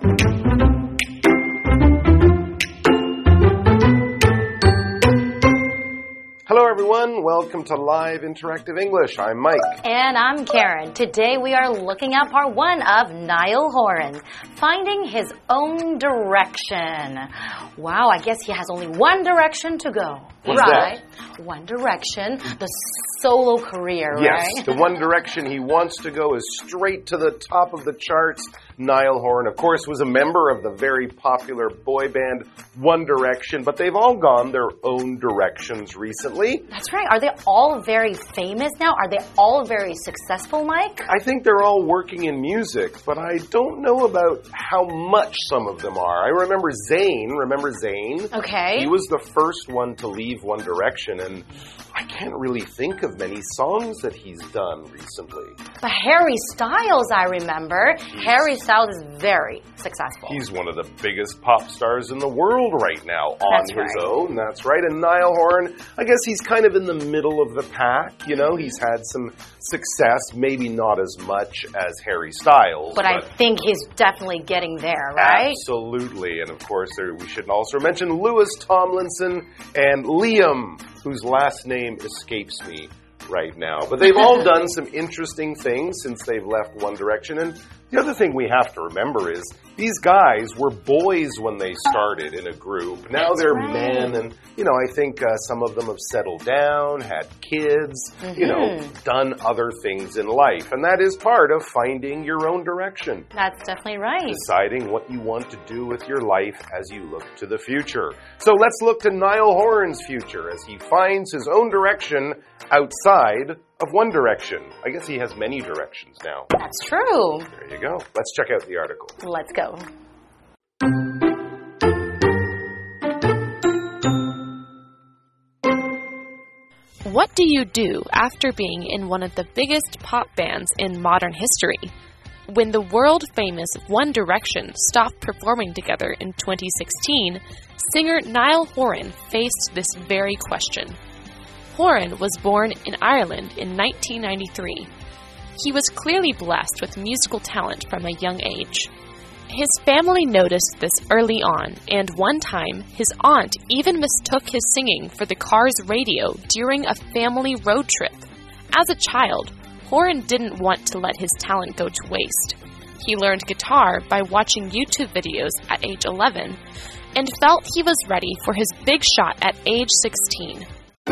Hello everyone, welcome to Live Interactive English. I'm Mike. And I'm Karen. Today we are looking at part 1 of Niall Horan, Finding His Own Direction. Wow, I guess he has only one direction to go. What's right? That? One Direction, the solo career, right? Yes, the one direction he wants to go is straight to the top of the charts. Niall Horan, of course, was a member of the very popular boy band One Direction, but they've all gone their own directions recently. That's right. Are they all very famous now? Are they all very successful, Mike? I think they're all working in music, but I don't know about how much some of them are. I remember Zayn. Remember Zayn? Okay. He was the first one to leave One Direction, and I can't really think of many songs that he's done recently. But Harry Styles, I remember. Harry Styles is very successful. He's one of the biggest pop stars in the world right now on That's his right. own. That's right. And Niall Horan, I guess he's kind of in the middle of the pack. You know, he's had some success, maybe not as much as Harry Styles. But I think he's definitely getting there, right? Absolutely. And of course, we should also mention Louis Tomlinson and Liam, whose last name escapes me right now. But they've all done some interesting things since they've left One Direction. And the other thing we have to remember is these guys were boys when they started in a group. Now they're men, and, you know, I think some of them have settled down, had kids, you know, done other things in life. And that is part of finding your own direction. That's definitely right. Deciding what you want to do with your life as you look to the future. So let's look to Niall Horan's future as he finds his own direction outside of One Direction. I guess he has many directions now. That's true. There you go. Let's check out the article. Let's go. What do you do after being in one of the biggest pop bands in modern history? When the world-famous One Direction stopped performing together in 2016, singer Niall Horan faced this very question. Horan was born in Ireland in 1993. He was clearly blessed with musical talent from a young age. His family noticed this early on, and one time, his aunt even mistook his singing for the car's radio during a family road trip. As a child, Horan didn't want to let his talent go to waste. He learned guitar by watching YouTube videos at age 11, and felt he was ready for his big shot at age 16.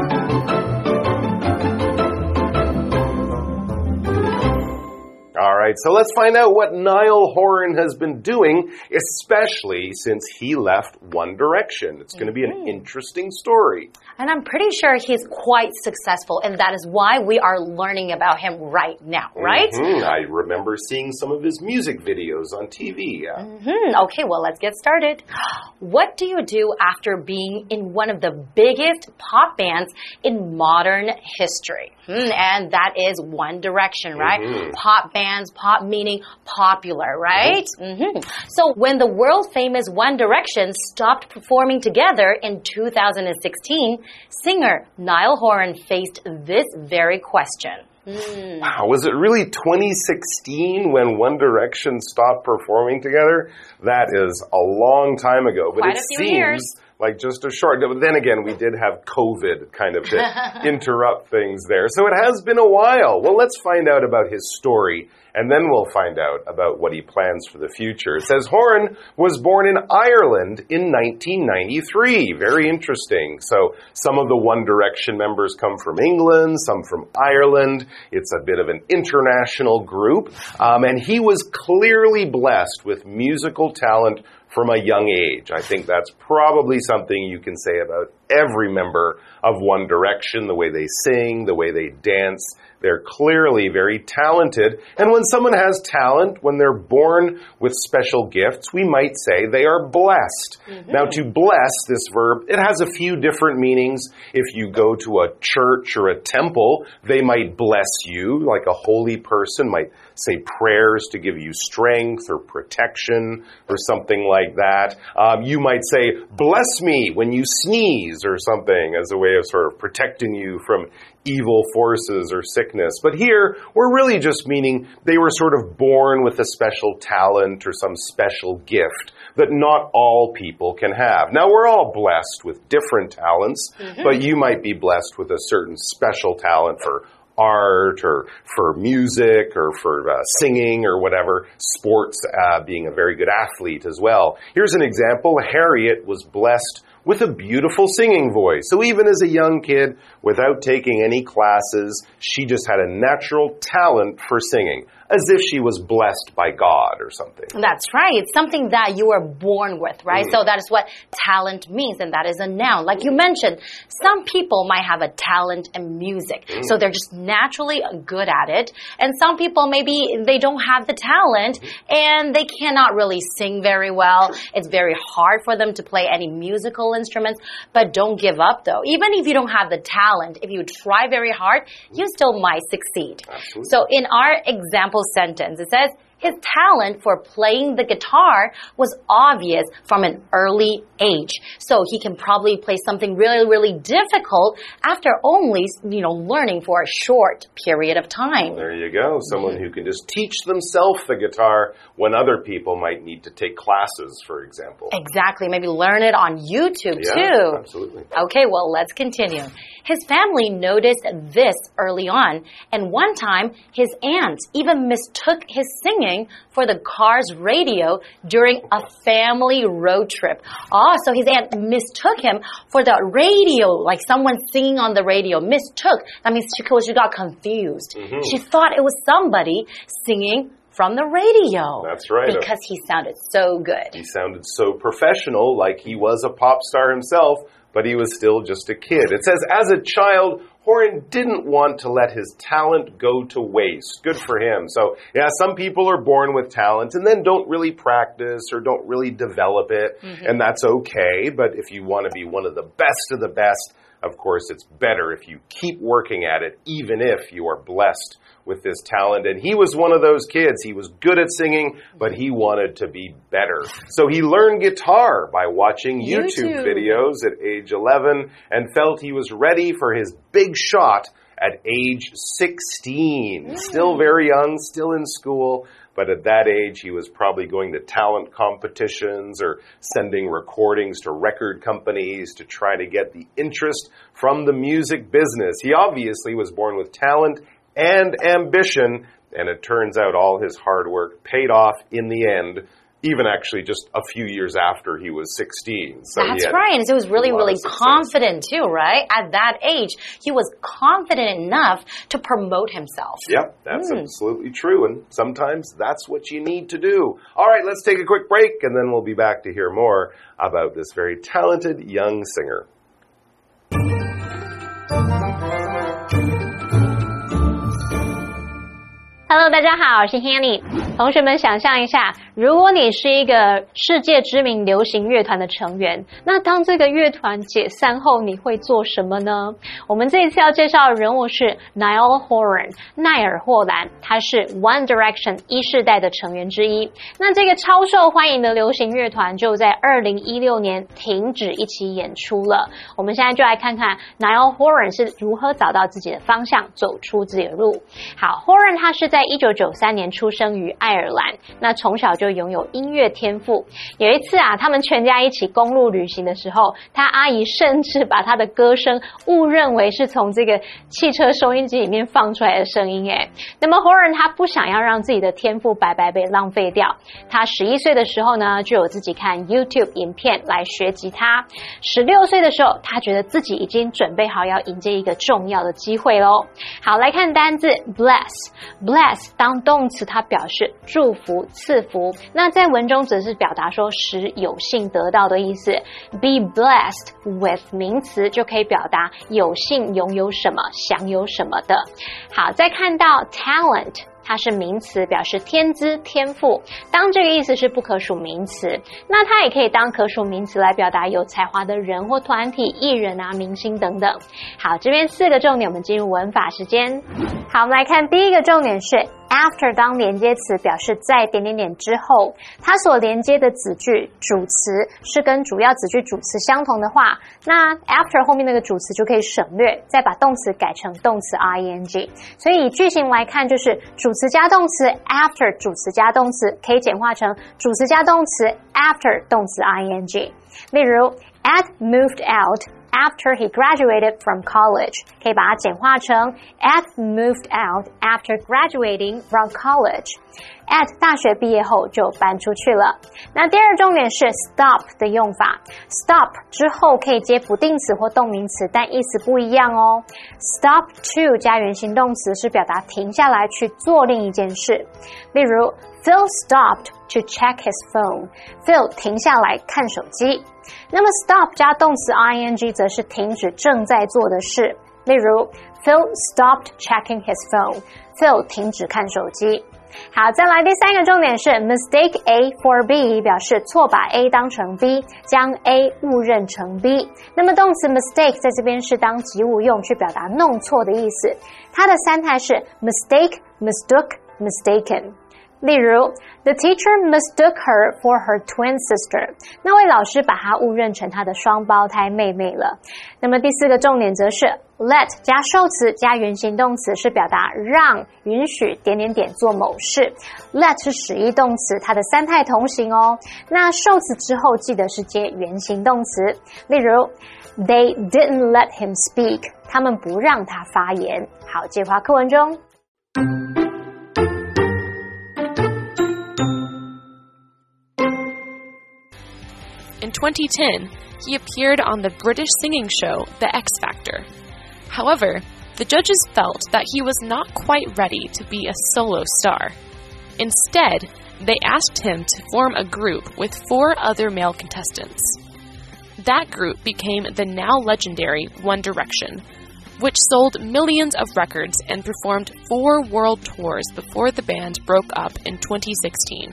All right, so let's find out what Niall Horan has been doing, especially since he left One Direction. It's going to be an interesting story. And I'm pretty sure he's quite successful, and that is why we are learning about him right now, right? I remember seeing some of his music videos on TV. Yeah. Okay, well, let's get started. What do you do after being in one of the biggest pop bands in modern history? And that is One Direction, right? Pop bands, pop meaning popular, right? So when the world-famous One Direction stopped performing together in 2016, singer Niall Horan faced this very question. Wow, was it really 2016 when One Direction stopped performing together? That is a long time ago, but Quite it a few seems years. like just a short. But then again, we did have COVID kind of to interrupt things there. So it has been a while. Well, let's find out about his story, and then we'll find out about what he plans for the future. It says Horan was born in Ireland in 1993. Very interesting. So some of the One Direction members come from England, some from Ireland. It's a bit of an international group. And he was clearly blessed with musical talent from a young age. I think that's probably something you can say about every member of One Direction, the way they sing, the way they dance. They're clearly very talented. And when someone has talent, when they're born with special gifts, we might say they are blessed. Now, to bless, this verb, it has a few different meanings. If you go to a church or a temple, they might bless you, like a holy person might say prayers to give you strength or protection or something like that. You might say, bless me when you sneeze or something as a way of sort of protecting you from evil forces or sickness. But here, we're really just meaning they were sort of born with a special talent or some special gift that not all people can have. Now, we're all blessed with different talents, but you might be blessed with a certain special talent for art or for music or for singing or whatever, sports, being a very good athlete as well. Here's an example. Harriet was blessed with a beautiful singing voice. So even as a young kid, without taking any classes, she just had a natural talent for singing, as if she was blessed by God or something. That's right. It's something that you are born with, right? So that is what talent means, and that is a noun. Like you mentioned, some people might have a talent in music, so they're just naturally good at it. And some people, maybe they don't have the talent, and they cannot really sing very well. It's very hard for them to play any musical instruments, but don't give up though. Even if you don't have the talent, if you try very hard, you still might succeed. Absolutely. So in our example sentence, it says, his talent for playing the guitar was obvious from an early age. So he can probably play something really, really difficult after only, learning for a short period of time. There you go. Someone who can just teach themselves the guitar when other people might need to take classes, for example. Exactly. Maybe learn it on YouTube too. Absolutely. Okay, well, let's continue. His family noticed this early on, and one time his aunt even mistook his singing for the car's radio during a family road trip. Oh, so his aunt mistook him for the radio, like someone singing on the radio. Mistook. That means she got confused. She thought it was somebody singing from the radio. That's right. Because he sounded so good. He sounded so professional, like he was a pop star himself, but he was still just a kid. It says, as a child, Horan didn't want to let his talent go to waste. Good for him. So, yeah, some people are born with talent and then don't really practice or don't really develop it, and that's okay. But if you want to be one of the best, of course, it's better if you keep working at it, even if you are blessed with this talent. And he was one of those kids. He was good at singing, but he wanted to be better. So he learned guitar by watching YouTube videos at age 11 and felt he was ready for his big shot at age 16. Still very young, still in school. But at that age, he was probably going to talent competitions or sending recordings to record companies to try to get the interest from the music business. He obviously was born with talent and ambition, and it turns out all his hard work paid off in the end, even actually just a few years after he was 16. So that's right. And so he was really, really confident too, right? At that age, he was confident enough to promote himself. Yep, that's absolutely true. And sometimes that's what you need to do. All right, let's take a quick break, and then we'll be back to hear more about this very talented young singer. Hello， 大家好，我是 Hanny。同学们想象一下，如果你是一个世界知名流行乐团的成员，那当这个乐团解散後，你会做什麼呢？我們這一次要介紹的人物是 Niall Horan， 奈爾霍蘭，他是 One Direction 一世代的成員之一。那這個超受歡迎的流行樂團就在2016年停止一起演出了。我們現在就來看看 Niall Horan 是如何找到自己的方向，走出自己的路。好 ，Horan 他是在1993年出生於愛爾蘭，那從小就擁有音樂天賦。有一次啊，他們全家一起公路旅行的時候，他阿姨甚至把他的歌聲誤認為是從這個汽車收音機裡面放出來的聲音誒。那麼 Horan 他不想要讓自己的天賦白白被浪費掉，他11歲的時候呢，就有自己看 YouTube 影片來學吉他。16歲的時候，他覺得自己已經準備好要迎接一個重要的機會咯。好，來看單字 bless 當動詞，它表示祝福、賜福。那在文中則是表達說使有幸得到的意思。Be blessed with 名詞就可以表達有幸擁有什麼、享有什麼的。好，再看到 talent。它是名詞，表示天資、天賦。當這個意思是不可數名詞，那它也可以當可數名詞來表達有才華的人或團體、藝人啊、明星等等。好，這邊4個重點，我們進入文法時間。好，我們來看第一個重點是 after 当連接詞表示在點點點之後，它所連接的子句主詞是跟主要子句主詞相同的話，那 after 後面那個主詞就可以省略，再把動詞改成動詞 ing。所以以句型來看，就是主詞加動詞 after 主詞加動詞，可以簡化成主詞加動詞 after 動詞 ing。例如 Ed moved out after he graduated from college， 可以把它簡化成 Ed moved out after graduating from college。 Ed 大學畢業後就搬出去了。那第二重點是 stop 的用法， stop 之後可以接不定詞或動名詞，但意思不一樣哦。 stop to 加原形動詞是表達停下來去做另一件事。例如 Phil stopped to check his phone， Phil 停下來看手機。那麼 stop 加動詞 ing 則是停止正在做的事。例如 Phil stopped checking his phone， Phil 停止看手機。好，再來第三個重點是 mistake A for B， 表示錯把 A 當成 B， 將 A 誤認成 B。 那麼動詞 mistake 在這邊是當及物用，去表達弄錯的意思。它的三態是 mistake, mistook, mistaken。例如 The teacher mistook her for her twin sister， 那位老師把她誤認成她的雙胞胎妹妹了。那麼第四個重點則是 let 加受詞加原形動詞，是表達讓允許點點點做某事。 let 是使役動詞，它的三態同形哦。那受詞之後記得是接原形動詞。例如 They didn't let him speak， 他們不讓他發言。好，介華課文中 In 2010, he appeared on the British singing show The X Factor. However, the judges felt that he was not quite ready to be a solo star. Instead, they asked him to form a group with 4 other male contestants. That group became the now legendary One Direction, which sold millions of records and performed 4 world tours before the band broke up in 2016.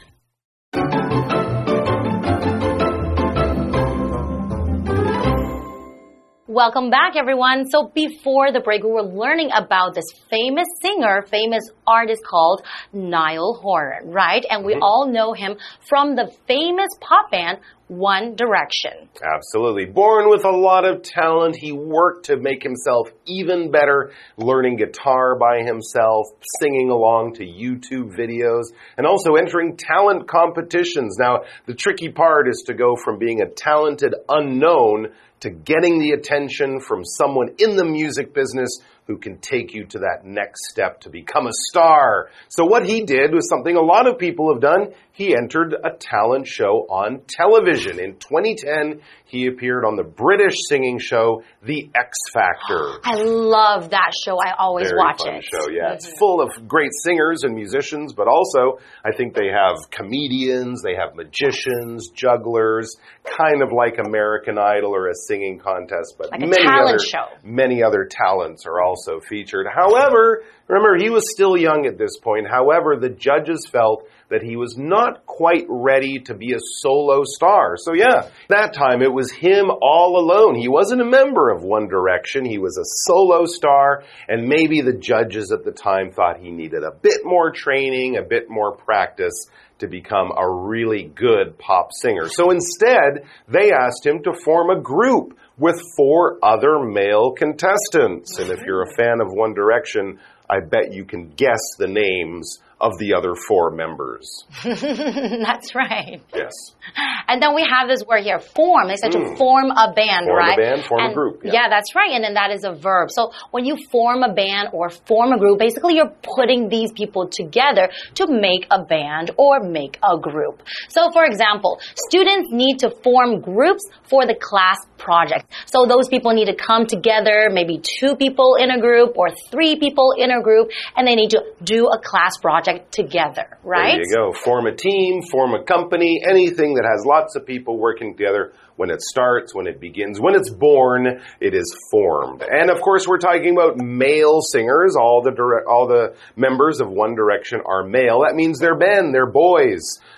Welcome back, everyone. So before the break, we were learning about this famous singer, famous artist called Niall Horan, right? And we all know him from the famous pop band One Direction. Absolutely. Born with a lot of talent, he worked to make himself even better, learning guitar by himself, singing along to YouTube videos, and also entering talent competitions. Now, the tricky part is to go from being a talented unknown to getting the attention from someone in the music business who can take you to that next step to become a star. So what he did was something a lot of people have done. He entered a talent show on television. In 2010, he appeared on the British singing show, The X Factor. I love that show. I always watch it. Very fun show, yeah. It's full of great singers and musicians, but also I think they have comedians, they have magicians, jugglers, kind of like American Idol or a singing contest, but like a talent show. Many other talents are also featured. However, remember, he was still young at this point. However, the judges felt that he was not quite ready to be a solo star. So yeah, that time it was him all alone. He wasn't a member of One Direction. He was a solo star, and maybe the judges at the time thought he needed a bit more training, a bit more practice to become a really good pop singer. So instead, they asked him to form a group with 4 other male contestants. And if you're a fan of One Direction, I bet you can guess the names of the other 4 members. That's right. Yes. And then we have this word here, form. They said to form a band, form right? Form a band, form a group. Yeah, that's right. And then that is a verb. So when you form a band or form a group, basically you're putting these people together to make a band or make a group. So for example, students need to form groups for the class project. So those people need to come together, maybe 2 people in a group or 3 people in a group, and they need to do a class project together, right? There you go. Form a team, form a company, anything that has lots of people working together. When it starts, when it begins, when it's born, it is formed. And of course, we're talking about male singers. All the members of One Direction are male. That means they're men, they're boys.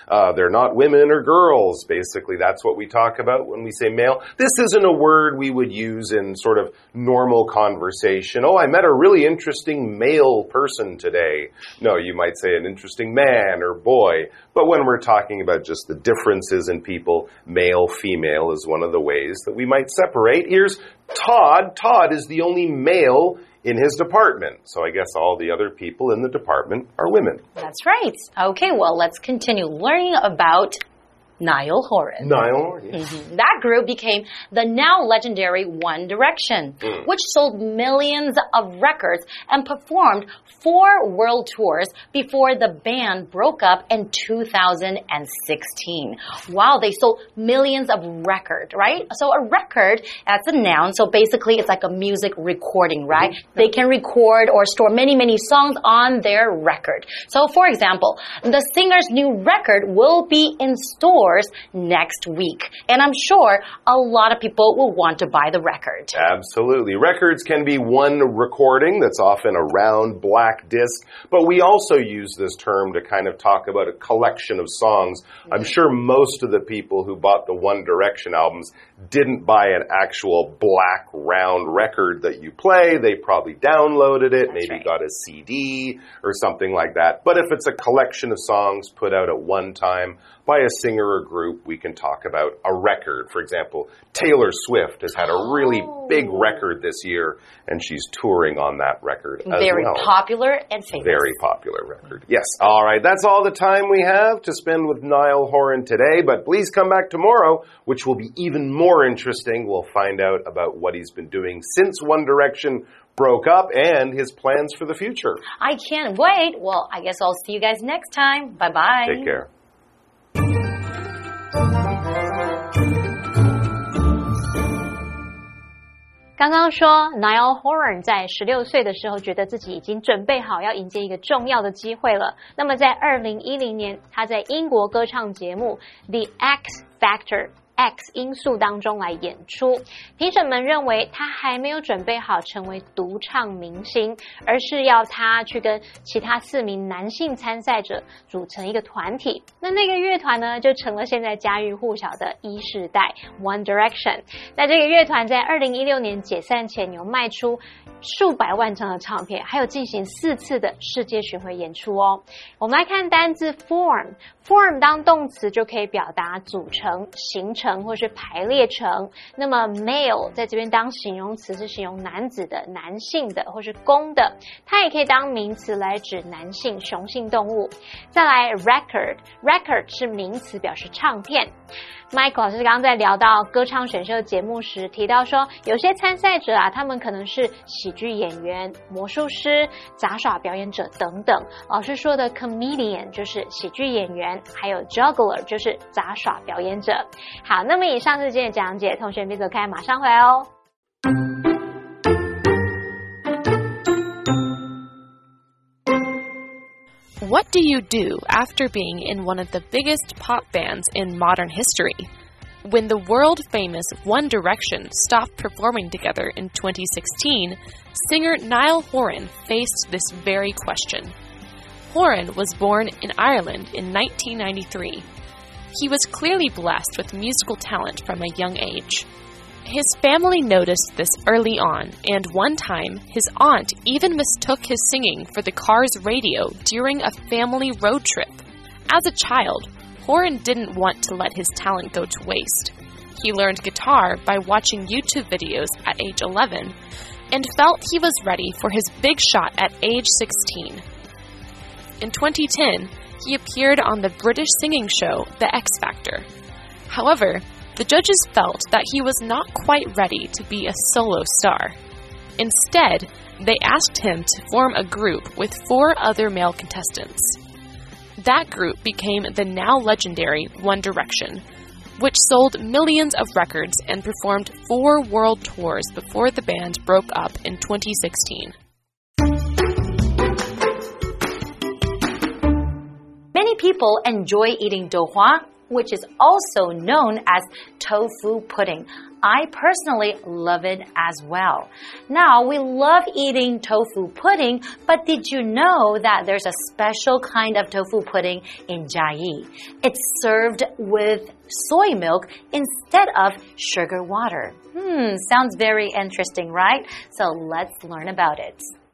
They're not women or girls. Basically, that's what we talk about when we say male. This isn't a word we would use in sort of normal conversation. Oh, I met a really interesting male person today. No, you might say an interesting man or boy. But when we're talking about just the differences in people, male, female is one of the ways that we might separate. Here's Todd. Todd is the only male in his department. So I guess all the other people in the department are women. That's right. Okay, well, let's continue learning about Niall Horan. Niall Horan, yes. That group became the now legendary One Direction, which sold millions of records and performed 4 world tours before the band broke up in 2016. Wow, they sold millions of records, right? So a record, that's a noun, so basically it's like a music recording, right? They can record or store many, many songs on their record. So for example, the singer's new record will be in stores next week. And I'm sure a lot of people will want to buy the record. Absolutely. Records can be one recording that's often a round black disc, but we also use this term to kind of talk about a collection of songs. I'm sure most of the people who bought the One Direction albums didn't buy an actual black round record that you play. They probably downloaded it, maybe got a CD or something like that. But if it's a collection of songs put out at one time by a singer or group, we can talk about a record. For example, Taylor Swift has had a really big record this year, and she's touring on that record as well. Very popular and famous. Very popular record. Yes. All right. That's all the time we have to spend with Niall Horan today, but please come back tomorrow, which will be even more interesting. We'll find out about what he's been doing since One Direction broke up and his plans for the future. I can't wait. Well, I guess I'll see you guys next time. Bye-bye. Take care. 刚刚说 Niall Horan 在16岁的时候觉得自己已经準備好要迎接一個重要的機會了。那麼在2010年，他在英國歌唱節目 The X Factor。X 因素當中來演出，評審們認為他還沒有準備好成為獨唱明星，而是要他去跟其他4名男性參賽者組成一個團體。那個樂團呢，就成了現在家喻戶曉的一世代 One Direction。那這個樂團在2016年解散前有賣出數百萬張的唱片，還有進行4次的世界巡迴演出哦。我們來看單字 form 當動詞就可以表達組成、形成或是排列成。那麼 male 在這邊當形容詞是形容男子的、男性的或是公的，它也可以當名詞來指男性雄性動物。再來 record 是名詞表示唱片。Michael 老師剛剛在聊到歌唱選秀節目時提到說，有些參賽者啊，他們可能是喜劇演員、魔術師、雜耍表演者等等。老師說的 comedian 就是喜劇演員，還有 juggler 就是雜耍表演者。好，那麼以上是今天的講解，同學別走開，馬上回來哦。 What do you do after being in one of the biggest pop bands in modern history? When the world-famous One Direction stopped performing together in 2016, singer Niall Horan faced this very question. Horan was born in Ireland in 1993. He was clearly blessed with musical talent from a young age. His family noticed this early on, and one time, his aunt even mistook his singing for the car's radio during a family road trip. As a child, Horan didn't want to let his talent go to waste. He learned guitar by watching YouTube videos at age 11, and felt he was ready for his big shot at age 16. In 2010, he appeared on the British singing show The X Factor. However, the judges felt that he was not quite ready to be a solo star. Instead, they asked him to form a group with 4 other male contestants. That group became the now legendary One Direction, which sold millions of records and performed 4 world tours before the band broke up in 2016. Many people enjoy eating douhua which is also known as tofu pudding. I personally love it as well. Now, we love eating tofu pudding, but did you know that there's a special kind of tofu pudding in Chiayi? It's served with soy milk instead of sugar water. Sounds very interesting, right? So let's learn about it.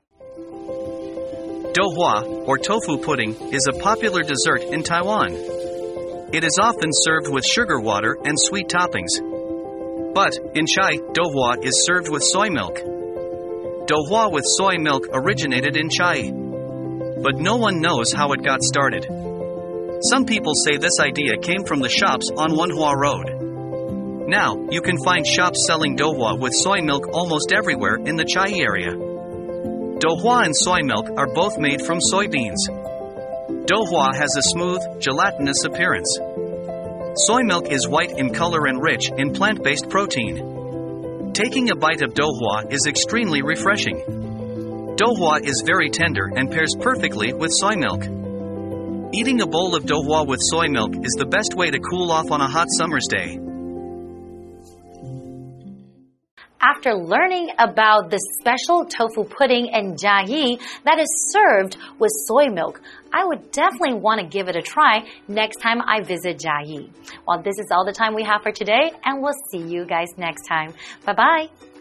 Douhua, or tofu pudding, is a popular dessert in Taiwan. It is often served with sugar water and sweet toppings. But in Chiayi, douhua is served with soy milk. Douhua with soy milk originated in Chiayi, but no one knows how it got started. Some people say this idea came from the shops on Wenhua Road. Now, you can find shops selling douhua with soy milk almost everywhere in the Chiayi area. Douhua and soy milk are both made from soybeans. Douhua has a smooth, gelatinous appearance. Soy milk is white in color and rich in plant-based protein. Taking a bite of douhua is extremely refreshing. Douhua is very tender and pairs perfectly with soy milk. Eating a bowl of douhua with soy milk is the best way to cool off on a hot summer's day. After learning about the special tofu pudding in Chiayi that is served with soy milk, I would definitely want to give it a try next time I visit Chiayi. Well, this is all the time we have for today, and we'll see you guys next time. Bye-bye.